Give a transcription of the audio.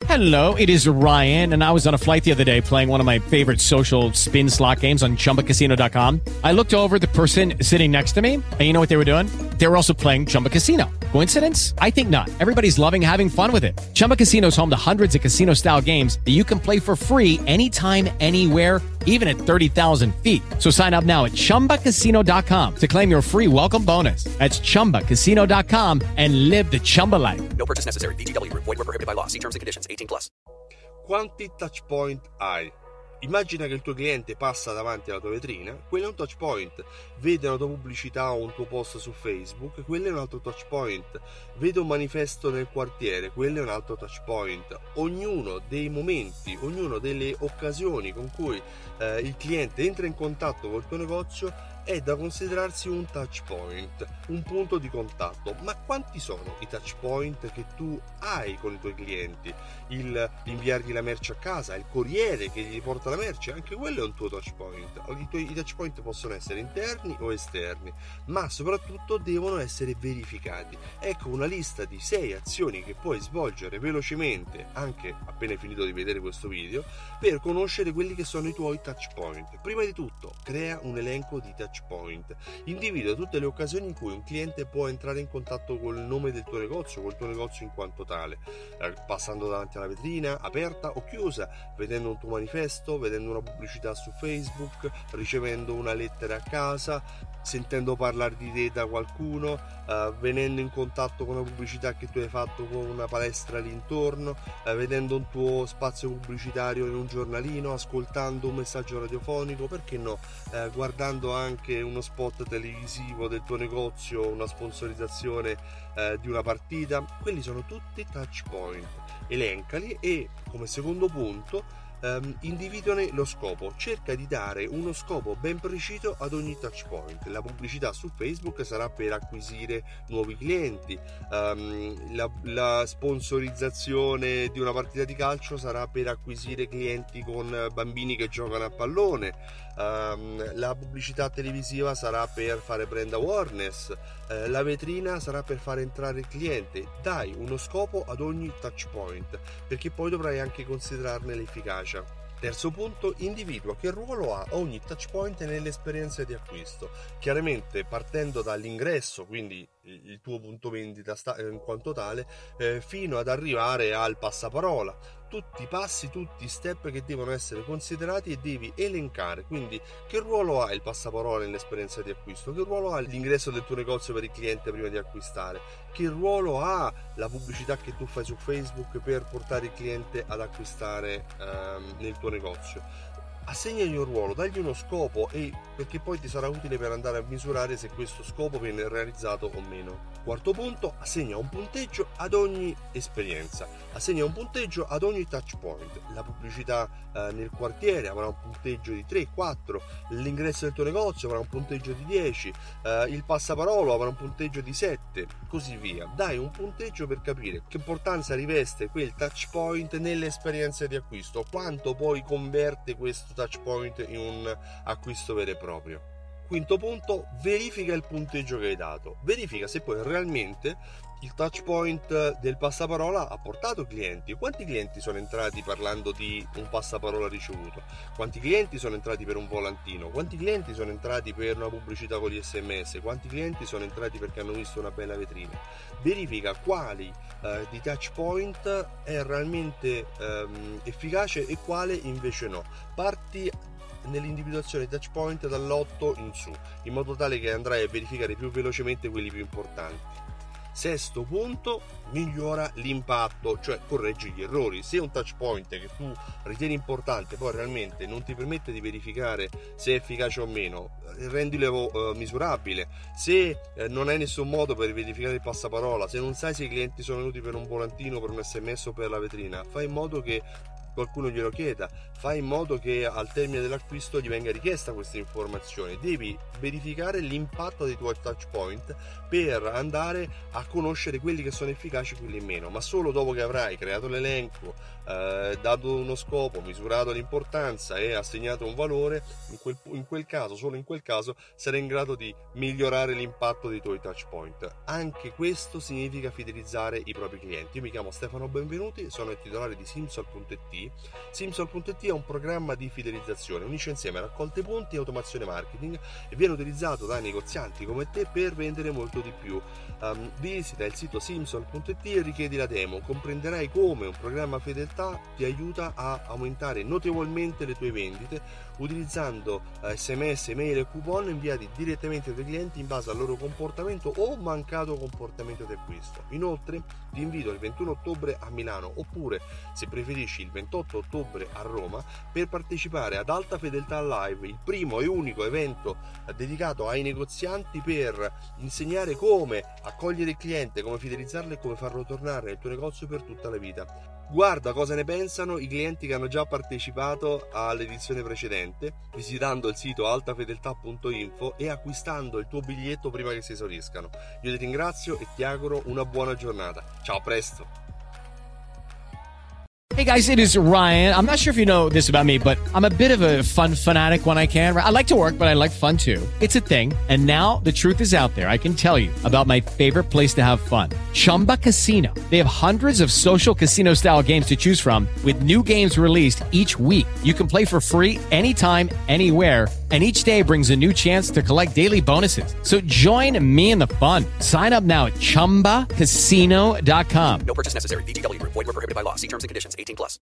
Hello, it is Ryan, and I was on a flight the other day playing one of my favorite social spin slot games on ChumbaCasino.com. I looked over at the person sitting next to me, and you know what they were doing? They were also playing Chumba Casino. Coincidence? I think not. Everybody's loving having fun with it. Chumba Casino is home to hundreds of casino-style games that you can play for free anytime, anywhere, even at 30,000 feet. So sign up now at ChumbaCasino.com to claim your free welcome bonus. That's ChumbaCasino.com and live the Chumba life. No purchase necessary. VGW. Void where prohibited by law. See terms and conditions. 18+. Quanti touch point hai? Immagina che il tuo cliente passa davanti alla tua vetrina, quello è un touch point. Vede una tua pubblicità o un tuo post su Facebook, quello è un altro touch point. Vede un manifesto nel quartiere, quello è un altro touch point. Ognuno dei momenti, ognuno delle occasioni con cui il cliente entra in contatto col tuo negozio è da considerarsi un touch point, un punto di contatto. Ma quanti sono i touch point che tu hai con i tuoi clienti? Inviargli la merce a casa, il corriere che gli porta la merce, anche quello è un tuo touch point. I touch point possono essere interni o esterni, ma soprattutto devono essere verificati. Ecco una lista di 6 azioni che puoi svolgere velocemente, anche appena hai finito di vedere questo video, per conoscere quelli che sono i tuoi touch point. Prima di tutto, crea un elenco di touch point. Individua tutte le occasioni in cui un cliente può entrare in contatto col nome del tuo negozio, col tuo negozio in quanto tale, passando davanti alla vetrina, aperta o chiusa, vedendo un tuo manifesto, vedendo una pubblicità su Facebook, ricevendo una lettera a casa, sentendo parlare di te da qualcuno, venendo in contatto con una pubblicità che tu hai fatto con una palestra lì intorno, vedendo un tuo spazio pubblicitario in un giornalino, ascoltando un messaggio radiofonico, perché no, guardando anche uno spot televisivo del tuo negozio, una sponsorizzazione di una partita. Quelli sono tutti touch point. Elencali e, come secondo punto, individuane lo scopo. Cerca di dare uno scopo ben preciso ad ogni touch point. La pubblicità su Facebook sarà per acquisire nuovi clienti, la sponsorizzazione di una partita di calcio sarà per acquisire clienti con bambini che giocano a pallone, la pubblicità televisiva sarà per fare brand awareness, la vetrina sarà per far entrare il cliente. Dai uno scopo ad ogni touch point, perché poi dovrai anche considerarne l'efficacia. Terzo punto, individua che ruolo ha ogni touch point nell'esperienza di acquisto, chiaramente partendo dall'ingresso, quindi il tuo punto vendita in quanto tale, fino ad arrivare al passaparola. Tutti i passi, tutti i step che devono essere considerati e devi elencare. Quindi che ruolo ha il passaparola nell'esperienza di acquisto, che ruolo ha l'ingresso del tuo negozio per il cliente prima di acquistare, che ruolo ha la pubblicità che tu fai su Facebook per portare il cliente ad acquistare nel tuo negozio. Assegnagli un ruolo, dagli uno scopo, e perché poi ti sarà utile per andare a misurare se questo scopo viene realizzato o meno. Quarto punto, assegna un punteggio ad ogni esperienza, assegna un punteggio ad ogni touch point. La pubblicità nel quartiere avrà un punteggio di 3, 4, l'ingresso del tuo negozio avrà un punteggio di 10, il passaparola avrà un punteggio di 7, così via. Dai un punteggio per capire che importanza riveste quel touch point nell'esperienza di acquisto, quanto poi converte questo touch point in un acquisto vero e proprio. Quinto punto, verifica il punteggio che hai dato, verifica se poi realmente il touch point del passaparola ha portato clienti. Quanti clienti sono entrati parlando di un passaparola ricevuto? Quanti clienti sono entrati per un volantino? Quanti clienti sono entrati per una pubblicità con gli SMS? Quanti clienti sono entrati perché hanno visto una bella vetrina? Verifica quali di touch point è realmente efficace e quale invece no. Parti nell'individuazione di touch point dall'8 in su, in modo tale che andrai a verificare più velocemente quelli più importanti. Sesto punto, migliora l'impatto, cioè correggi gli errori. Se un touch point che tu ritieni importante poi realmente non ti permette di verificare se è efficace o meno, rendilo misurabile. Se non hai nessun modo per verificare il passaparola, se non sai se i clienti sono venuti per un volantino, per un SMS o per la vetrina, fai in modo che qualcuno glielo chieda, fai in modo che al termine dell'acquisto gli venga richiesta questa informazione. Devi verificare l'impatto dei tuoi touch point per andare a conoscere quelli che sono efficaci e quelli meno, ma solo dopo che avrai creato l'elenco, dato uno scopo, misurato l'importanza e assegnato un valore, in quel caso, solo in quel caso, sarai in grado di migliorare l'impatto dei tuoi touch point. Anche questo significa fidelizzare i propri clienti. Io mi chiamo Stefano Benvenuti, sono il titolare di Simsol.it. Simsol.it è un programma di fidelizzazione, unisce insieme raccolte punti e automazione marketing e viene utilizzato da negozianti come te per vendere molto di più. Visita il sito Simsol.it e richiedi la demo, comprenderai come un programma fedeltà ti aiuta a aumentare notevolmente le tue vendite utilizzando SMS, mail e coupon inviati direttamente dai clienti in base al loro comportamento o mancato comportamento di acquisto. Inoltre ti invito il 21 ottobre a Milano, oppure se preferisci il 28 ottobre a Roma, per partecipare ad Alta Fedeltà Live, il primo e unico evento dedicato ai negozianti per insegnare come accogliere il cliente, come fidelizzarlo e come farlo tornare nel tuo negozio per tutta la vita. Guarda cosa ne pensano i clienti che hanno già partecipato all'edizione precedente visitando il sito altafedeltà.info e acquistando il tuo biglietto prima che si esauriscano. Io ti ringrazio e ti auguro una buona giornata. Ciao, a presto! Hey guys, it is Ryan. I'm not sure if you know this about me, but I'm a bit of a fun fanatic when I can. I like to work, but I like fun too. It's a thing. And now the truth is out there. I can tell you about my favorite place to have fun. Chumba Casino. They have hundreds of social casino style games to choose from with new games released each week. You can play for free anytime, anywhere. And each day brings a new chance to collect daily bonuses. So join me in the fun. Sign up now at ChumbaCasino.com. No purchase necessary. VGW Group. Void where prohibited by law. See terms and conditions. 18+.